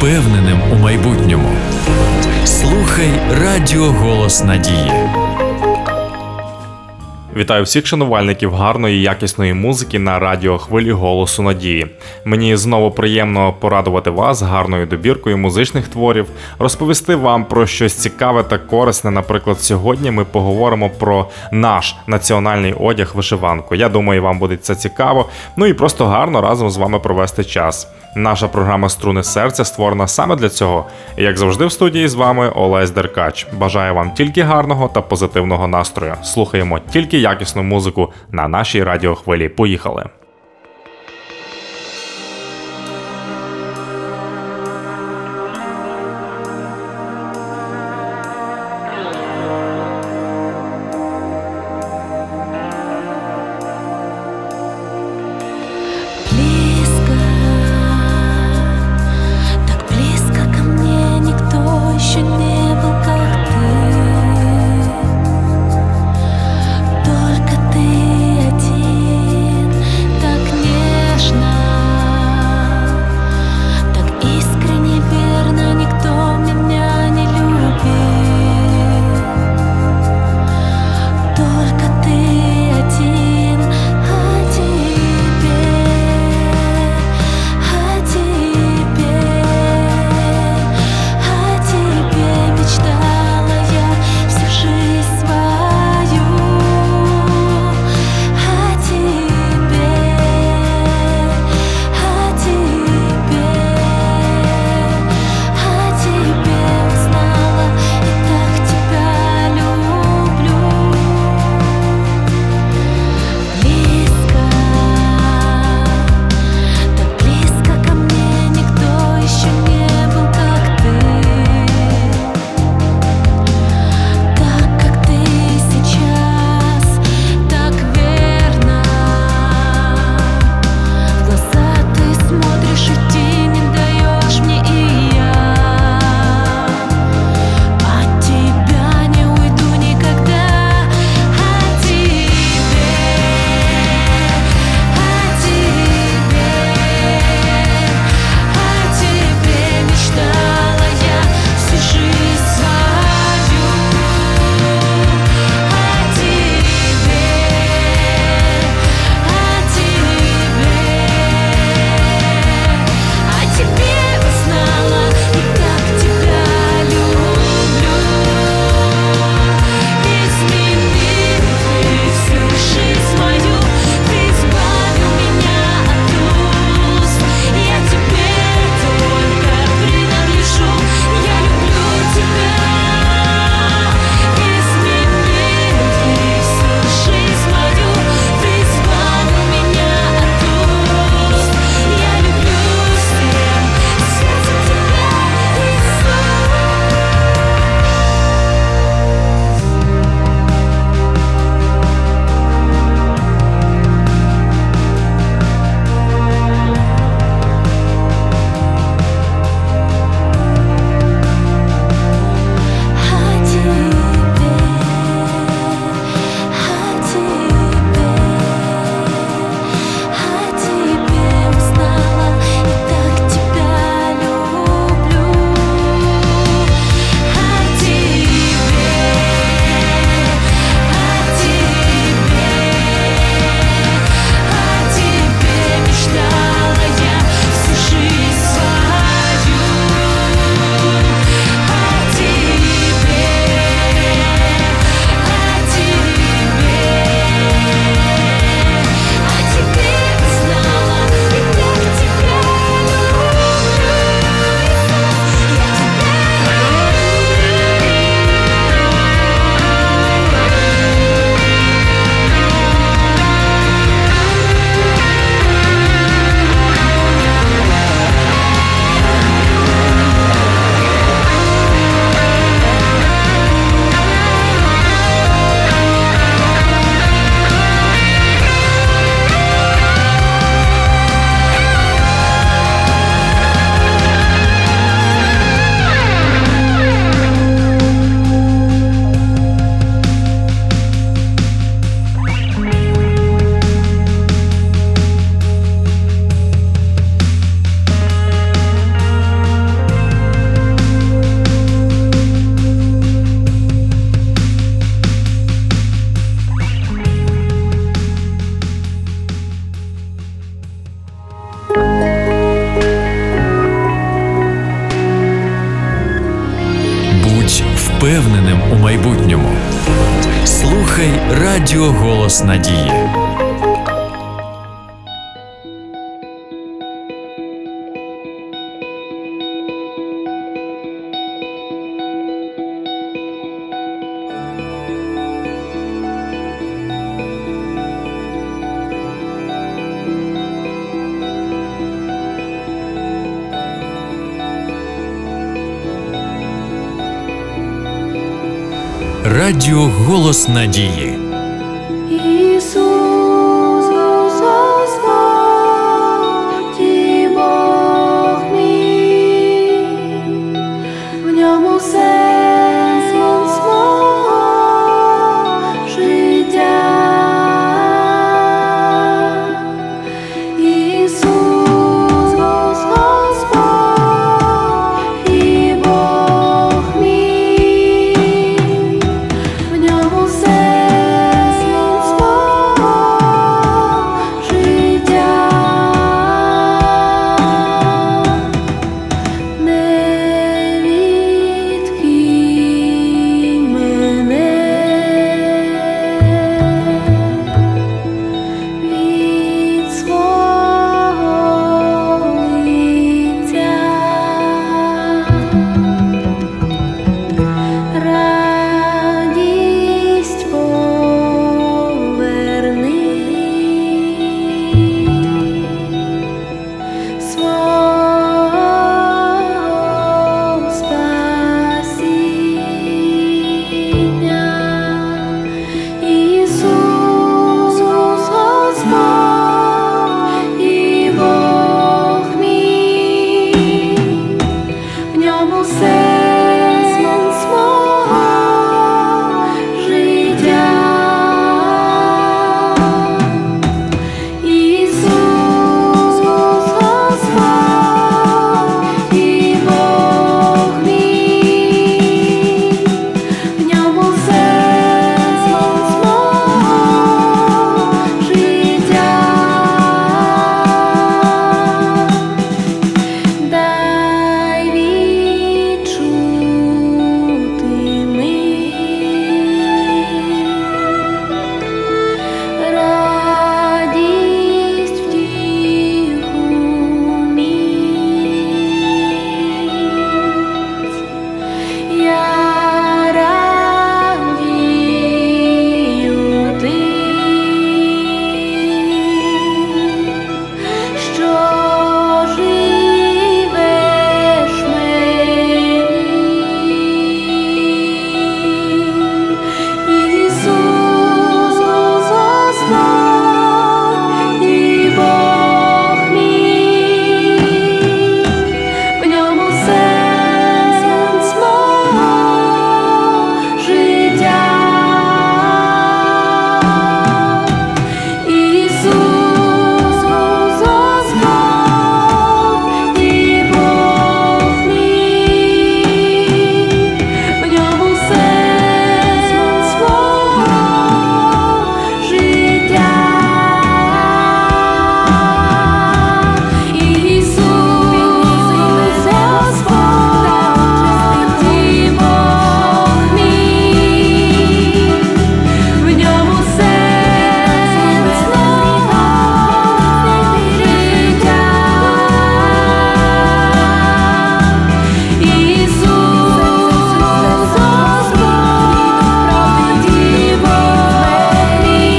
впевненим у майбутньому. Слухай Радіо Голос Надії. Вітаю всіх шанувальників гарної і якісної музики на радіохвилі Голосу Надії. Мені знову приємно порадувати вас гарною добіркою музичних творів, розповісти вам про щось цікаве та корисне. Наприклад, сьогодні ми поговоримо про наш національний одяг вишиванку. Я думаю, вам буде це цікаво, ну і просто гарно разом з вами провести час. Наша програма «Струни серця» створена саме для цього. І як завжди в студії з вами Олесь Деркач. Бажаю вам тільки гарного та позитивного настрою. Слухаємо тільки якісну музику на нашій радіохвилі. Поїхали! Только ты один впевненим у майбутньому. Слухай Радіо Голос Надії. Радіо Голос Надії. Ісус, Господь і Бог мій, в ньому сенс мого життя. Ісус, Господь і Бог мій, в ньому сенс мого життя. Не відкинь мене від свого лиця. Радість поверни свого спасіння. Ісус, Господь і Бог мій, в ньому сенс мого життя. Ісус, Господь і Бог мій, в ньому сенс мого життя. Дай відчути мені радість, втіху, міць. Я радію тим, що живеш мені. Ісус, Господь і Бог мій, в ньому сенс мого життя. Ісус, Господь і Бог мій, в ньому сенс мого життя. Ісус, Господь і Бог мій, в ньому сенс мого життя. Ісус, Господь і Бог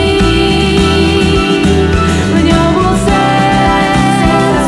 мій, в ньому сенс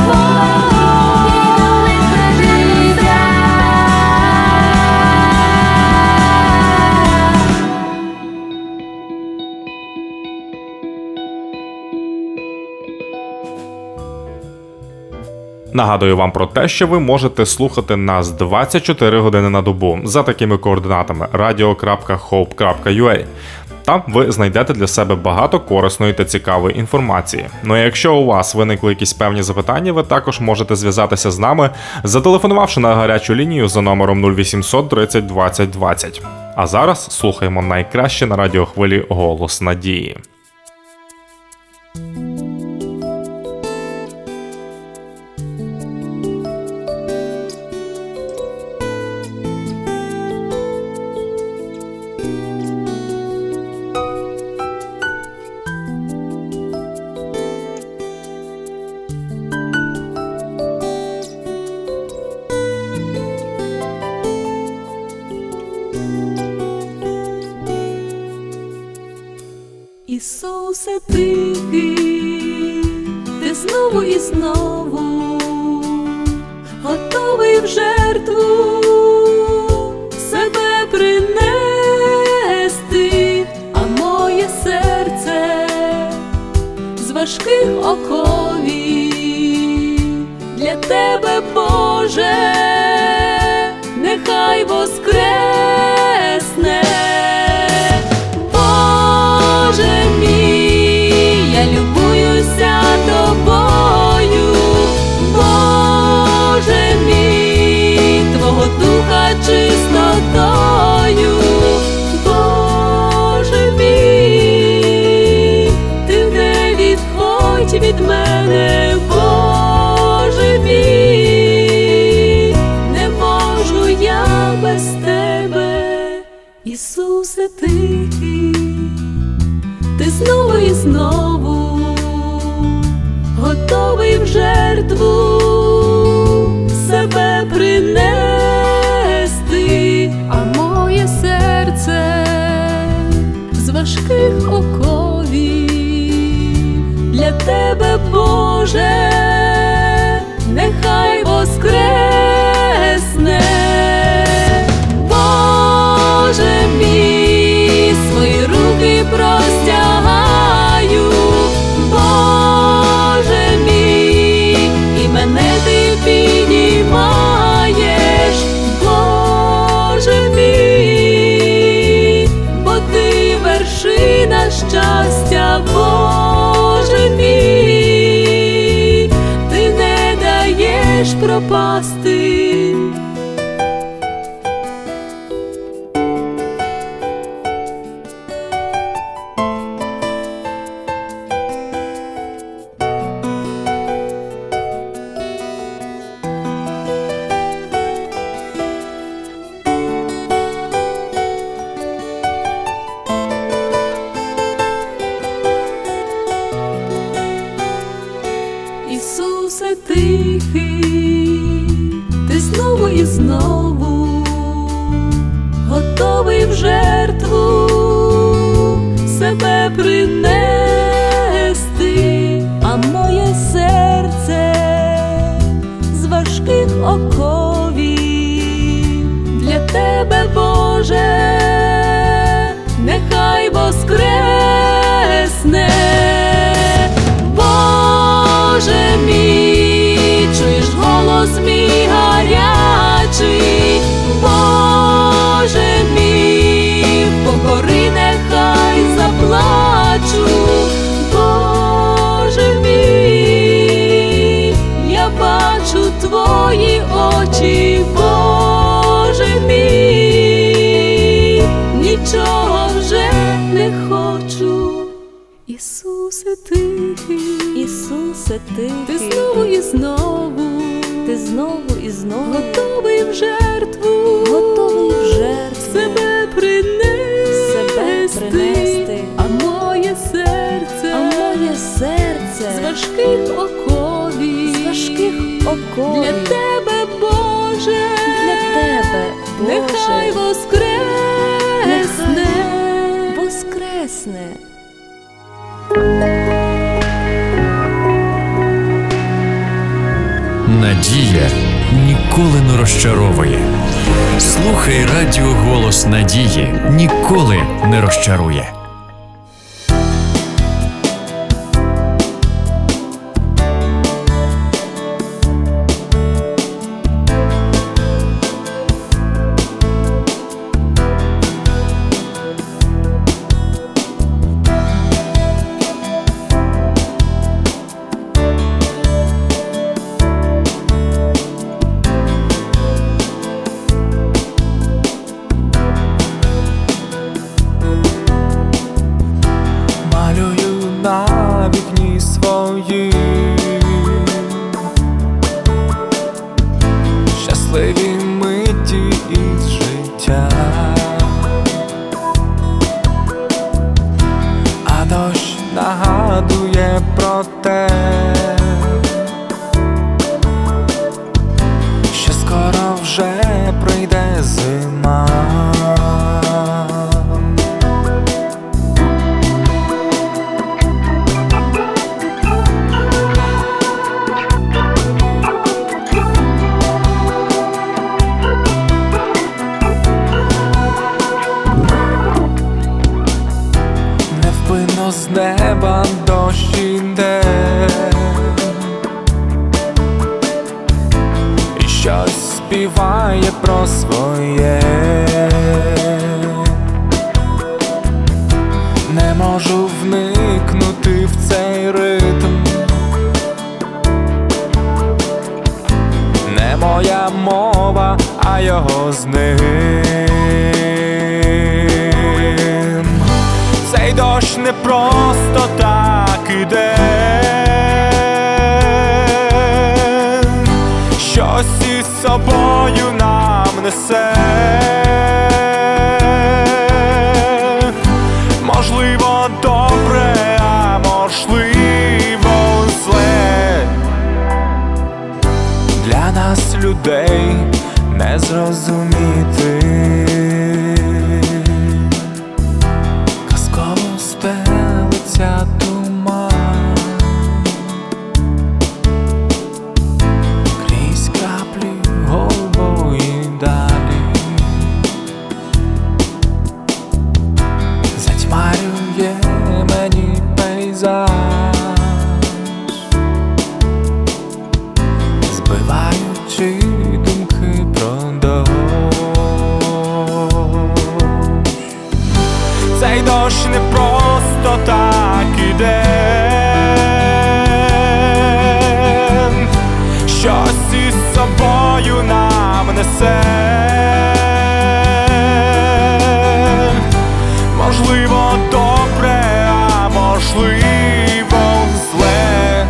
Нагадую вам про те, що ви можете слухати нас 24 години на добу за такими координатами radio.hope.ua. Там ви знайдете для себе багато корисної та цікавої інформації. Ну а якщо у вас виникли якісь певні запитання, ви також можете зв'язатися з нами, зателефонувавши на гарячу лінію за номером 0800 30 20 20. А зараз слухаємо найкраще на радіохвилі «Голос Надії». Ісусе тихий, ти знову і знову готовий в жертву себе принести, а моє серце з важких оковів для тебе, Боже, нехай воскресне. Боже мій, я любуюся тобою, Боже мій, твого духа чистотою, Боже мій, ти не відходь від мене, Боже мій, не можу я без тебе. Ісусе тихий, ти знову і знову готовий в жертву себе принести, а моє серце з важких оковів для тебе, Боже, нехай воскресне. Боже мій, свої руки простягаю, Боже мій, і мене ти піднімаєш, Боже мій, бо ти вершина щастя, Боже мій, ти не даєш пропасти. Ісусе тихий, ти знову і знову готовий в жертву себе принести, а моє серце з важких оковів для тебе, Боже, нехай воскресне. Боже мій, чуєш голос мій гарячий, Боже мій, покори нехай заплачу, Боже мій, я бачу твої очі, Боже мій, нічого вже не хочу. Ісусе тихий, Ісусе ти тихий, знову і знову ти знову і знову готовий в жертву, готовий в жертву себе принести, принести. а моє серце, а моє серце з важких оковів, з важких оковів для тебе, Боже, для тебе, нехай Боже, воскресне. воскресне. Надія ніколи не розчаровує. Слухай радіо «Голос надії» ніколи не розчарує. На вікні своїм щасливі миті із життя, а дощ нагадує про те, що скоро вже прийде зима. співає про своє. Не можу вникнути в цей ритм. Не моя мова, а його з ним. Цей дощ не просто так іде. Щось із собою нам несе. Можливо, добре, а можливо, зле. Для нас, людей, не зрозуміти. Казково стелиться туман крізь краплі голубої далі. Затьмарює мені пейзаж, збиваючи думки про дощ. Цей дощ не просто так іде. Щось із собою нам несе. Можливо, добре, а можливо, зле.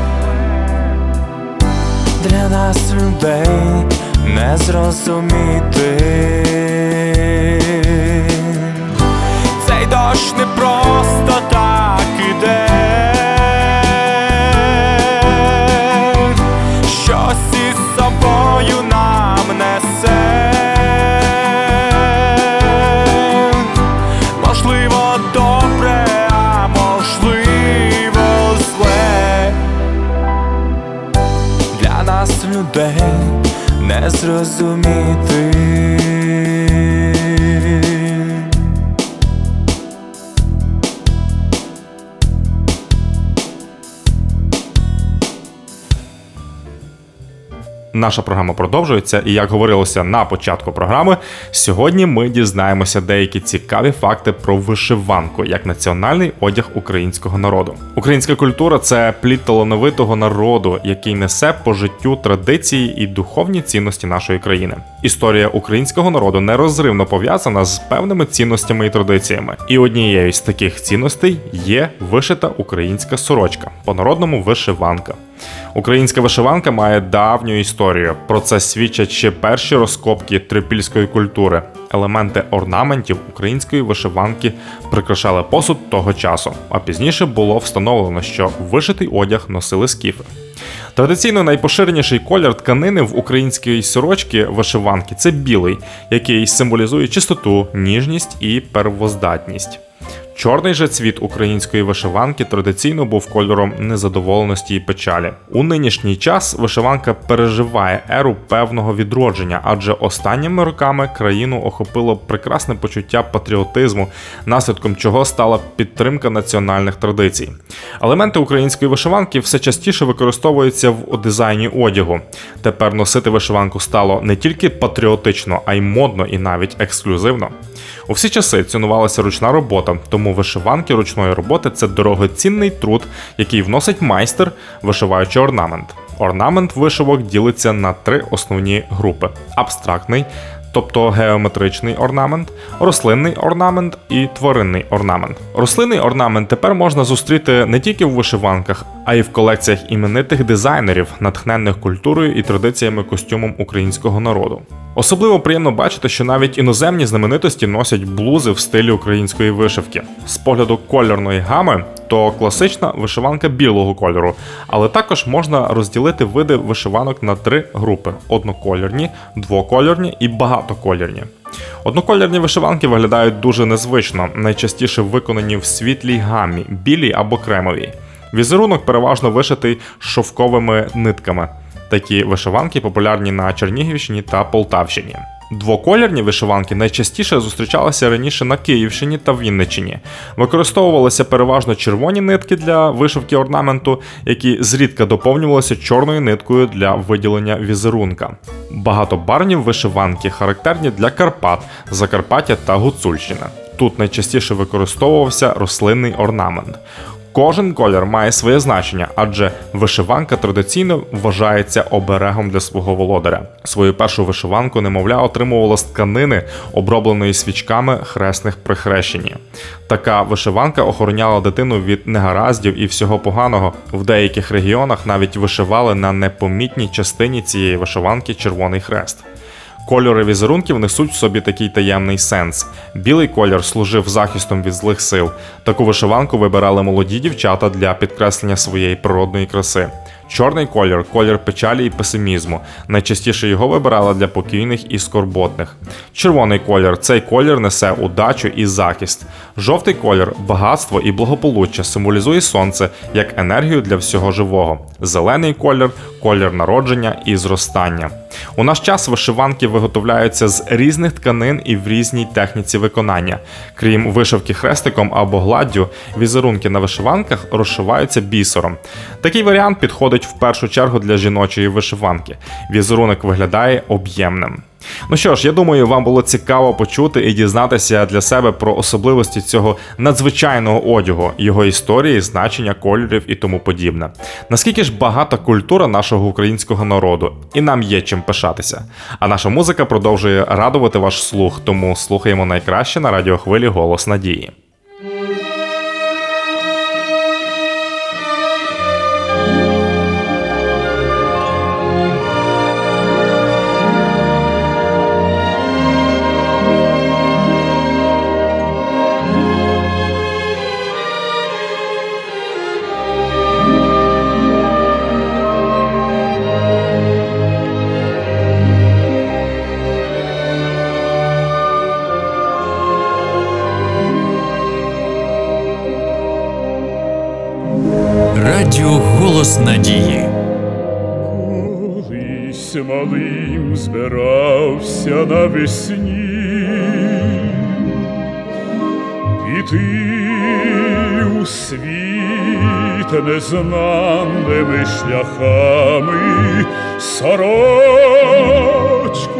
Для нас, людей, не зрозуміти. Цей дощ не просто так іде. Щось із собою нам несе. Можливо, добре, а можливо, зле. Для нас, людей, не зрозуміти. Наша програма продовжується, і як говорилося на початку програми, сьогодні ми дізнаємося деякі цікаві факти про вишиванку як національний одяг українського народу. Українська культура – це плід талановитого народу, який несе по життю традиції і духовні цінності нашої країни. Історія українського народу нерозривно пов'язана з певними цінностями і традиціями. І однією з таких цінностей є вишита українська сорочка, по-народному вишиванка. Українська вишиванка має давню історію. Про це свідчать ще перші розкопки трипільської культури. Елементи орнаментів української вишиванки прикрашали посуд того часу, а пізніше було встановлено, що вишитий одяг носили скіфи. Традиційно найпоширеніший колір тканини в українській сорочці вишиванки – це білий, який символізує чистоту, ніжність і первоздатність. Чорний же цвіт української вишиванки традиційно був кольором незадоволеності і печалі. У нинішній час вишиванка переживає еру певного відродження, адже останніми роками країну охопило прекрасне почуття патріотизму, наслідком чого стала підтримка національних традицій. Елементи української вишиванки все частіше використовуються в дизайні одягу. Тепер носити вишиванку стало не тільки патріотично, а й модно і навіть ексклюзивно. У всі часи цінувалася ручна робота, тому вишиванки ручної роботи – це дорогоцінний труд, який вносить майстер, вишиваючи орнамент. Орнамент вишивок ділиться на три основні групи – абстрактний, тобто геометричний орнамент, рослинний орнамент і тваринний орнамент. Рослинний орнамент тепер можна зустріти не тільки в вишиванках, а й в колекціях іменитих дизайнерів, натхненних культурою і традиціями костюмом українського народу. Особливо приємно бачити, що навіть іноземні знаменитості носять блузи в стилі української вишивки. З погляду кольорної гами, то класична вишиванка білого кольору, але також можна розділити види вишиванок на три групи – однокольорні, двокольорні і багатокольорні. Однокольорні вишиванки виглядають дуже незвично, найчастіше виконані в світлій гамі – білій або кремовій. Візерунок переважно вишитий шовковими нитками. Такі вишиванки популярні на Чернігівщині та Полтавщині. Двоколірні вишиванки найчастіше зустрічалися раніше на Київщині та Вінниччині. Використовувалися переважно червоні нитки для вишивки орнаменту, які зрідка доповнювалися чорною ниткою для виділення візерунка. Багатобарвні вишиванки характерні для Карпат, Закарпаття та Гуцульщини. Тут найчастіше використовувався рослинний орнамент. Кожен колір має своє значення, адже вишиванка традиційно вважається оберегом для свого володаря. Свою першу вишиванку немовля отримувала з тканини, обробленої свічками хресних при хрещенні. Така вишиванка охороняла дитину від негараздів і всього поганого. В деяких регіонах навіть вишивали на непомітній частині цієї вишиванки червоний хрест. Кольори візерунків несуть в собі такий таємний сенс. Білий колір служив захистом від злих сил. Таку вишиванку вибирали молоді дівчата для підкреслення своєї природної краси. Чорний колір – колір печалі і песимізму. Найчастіше його вибирали для покійних і скорботних. Червоний колір – цей колір несе удачу і захист. Жовтий колір – багатство і благополуччя, символізує сонце як енергію для всього живого. Зелений колір – колір народження і зростання. У наш час вишиванки виготовляються з різних тканин і в різній техніці виконання. Крім вишивки хрестиком або гладдю, візерунки на вишиванках розшиваються бісером. Такий варіант підходить в першу чергу для жіночої вишиванки. Візерунок виглядає об'ємним. Ну що ж, я думаю, вам було цікаво почути і дізнатися для себе про особливості цього надзвичайного одягу, його історії, значення кольорів і тому подібне. Наскільки ж багата культура нашого українського народу, і нам є чим пишатися. А наша музика продовжує радувати ваш слух, тому слухаємо найкраще на радіохвилі «Голос надії». Радіо «Голос надії». Колись малим збирався навесні піти у світ незнаними шляхами, сорочку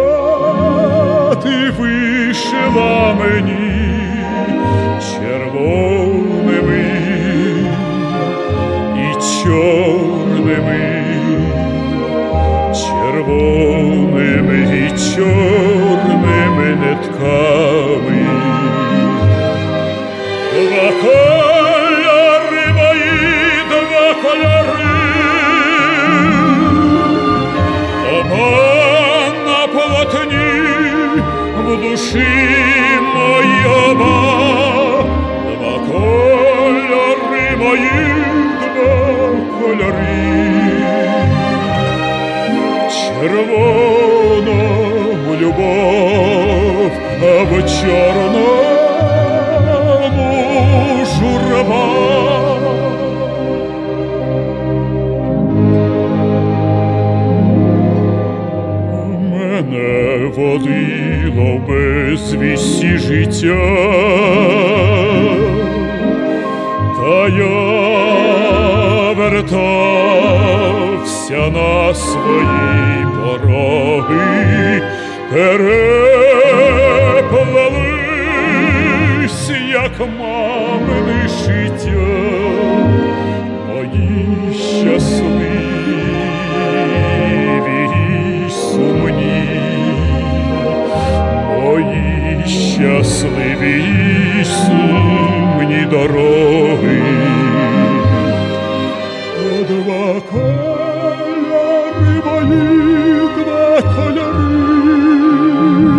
мати вишила мені червоними чорними, червоними і чорними нитками. Два кольори мої, два кольори, оба на полотні, в душі моїй оба. Два кольори мої, кольори, червоному любов, а в чорному журба. Мене водило в безвісті життя, та я вертався на свої пороги, переплелись, як мамини життя, мої щасливі й сумні, мої щасливі й сумні дороги. Два кольори мої, два кольори,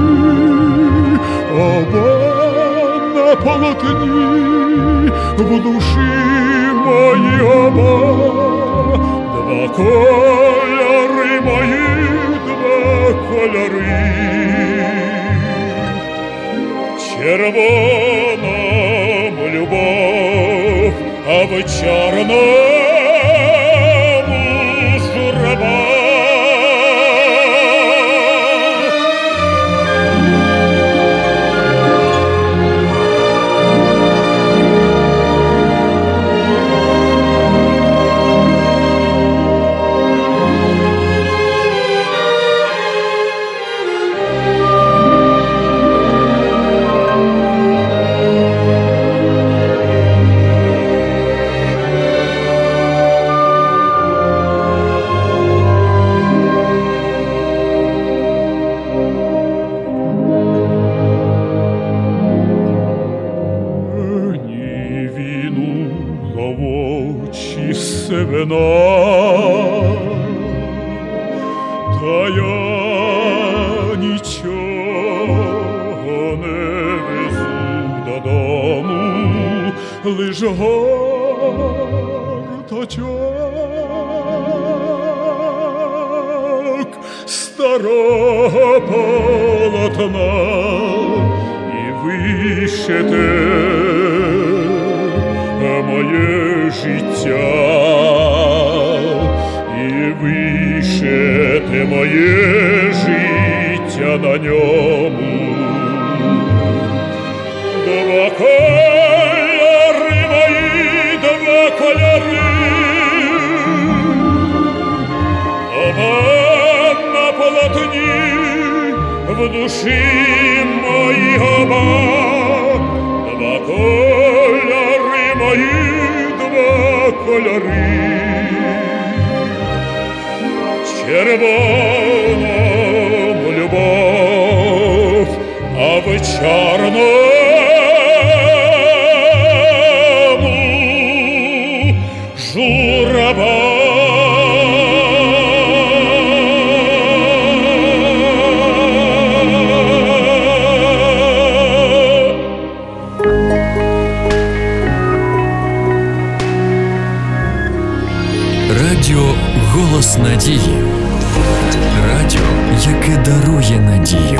оба на полотні, в душі моїй оба. Два кольори мої, два кольори, червоному любов, а в чорному журба. очі сивина, та я нічого не везу додому, лиш гортачок старого полотна і вишите моє життя, і вишите моє життя на ньому. Два кольори мої, два кольори, оба на полотні, в душі моїй оба. Два кольори мої, два кольори, червоному любов, а в чорному журба. Радіо «Голос надії». Радіо, яке дарує надію.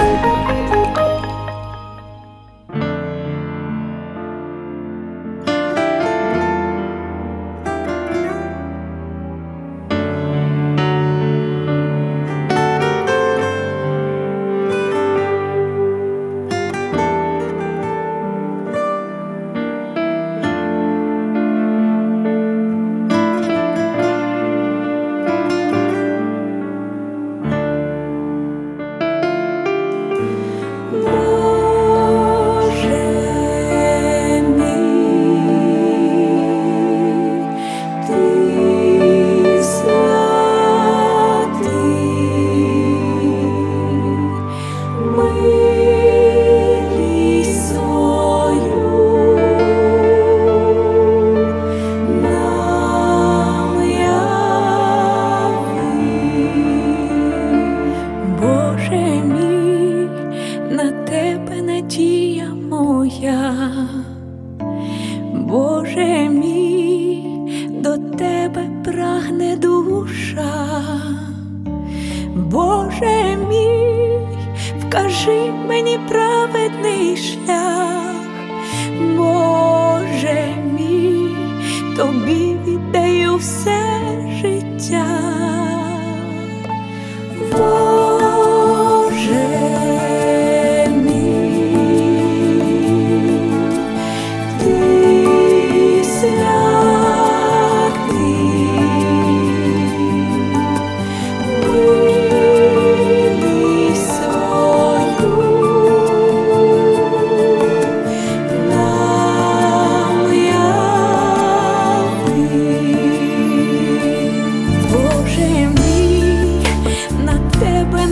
Боже мій, до тебе прагне душа. Боже мій, вкажи мені праведний шлях. Боже мій, тобі віддаю все життя. Боже тебе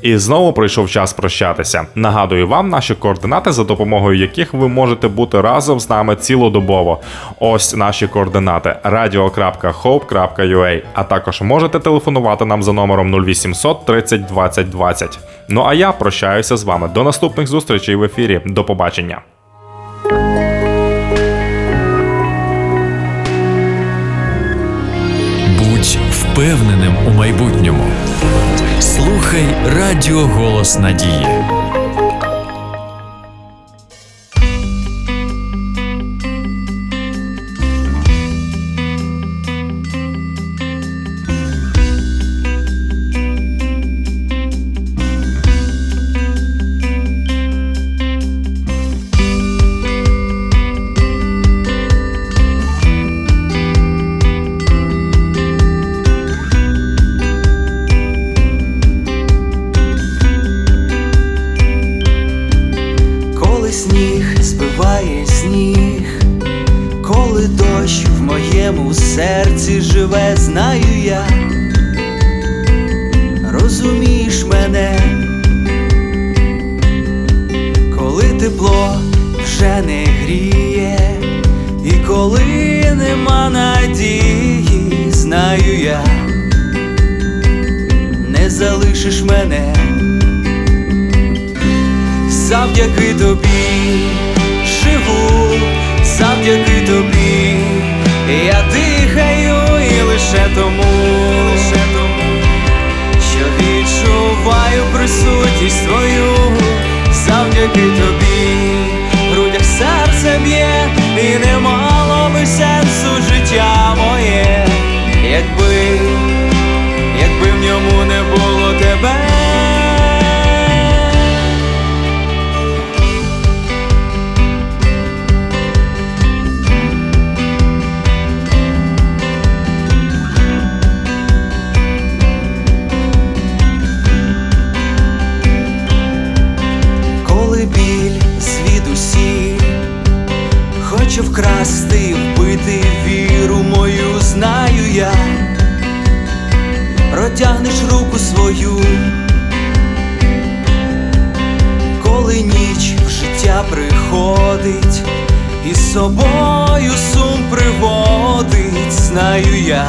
І знову прийшов час прощатися. Нагадую вам наші координати, за допомогою яких ви можете бути разом з нами цілодобово. Ось наші координати: radio.hope.ua, а також можете телефонувати нам за номером 0800 30 20 20. Ну а я прощаюся з вами. До наступних зустрічей в ефірі. До побачення. Будь впевненим у майбутньому. Слухай Радіо Голос Надії. Сніг збиває сніг, коли дощ в моєму серці живе, знаю я, розумієш мене, коли тепло вже не гріє, і коли нема надії, знаю я, не залишиш мене. Завдяки тобі живу, завдяки тобі я дихаю, і лише тому, що відчуваю присутність твою. Завдяки тобі в грудях серце б'є, і не мало би сенсу життя моє, якби в ньому не було тебе. Хочу вкрасти, вбити віру мою, знаю я, протягнеш руку свою, коли ніч в життя приходить, і з собою сум приводить, знаю я,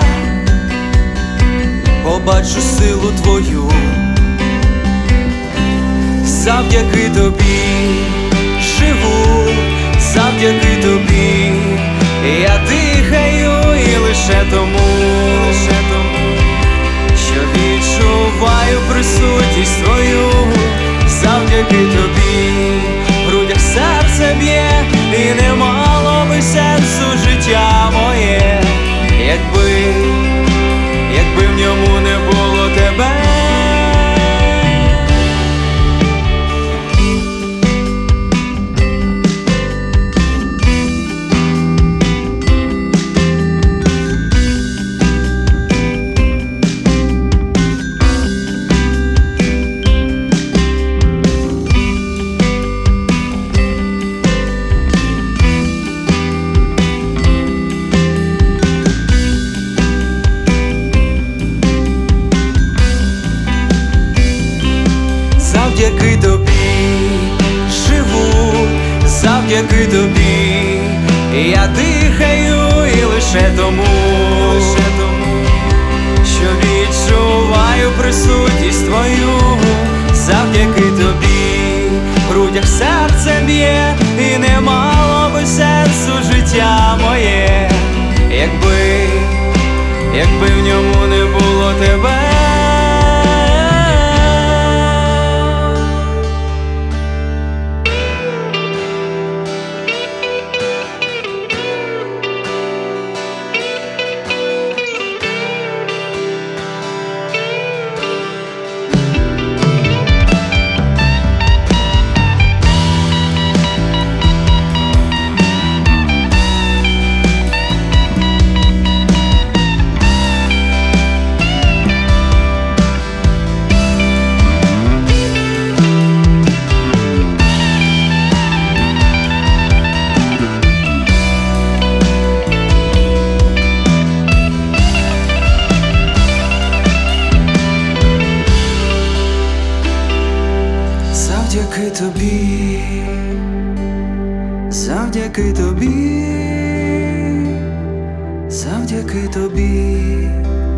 побачу силу твою. Завдяки тобі живу, завдяки тобі я дихаю, і лише тому, що відчуваю присутність твою. Завдяки тобі в грудях серце б'є, і не мало би сенсу життя моє, якби в ньому не було тебе. Завдяки тобі живу, завдяки тобі я дихаю, і лише тому, що відчуваю присутність твою. Завдяки тобі в грудях серце б'є, і не мало би сенсу життя моє, якби в ньому не було тебе. завдяки тобі, завдяки тобі.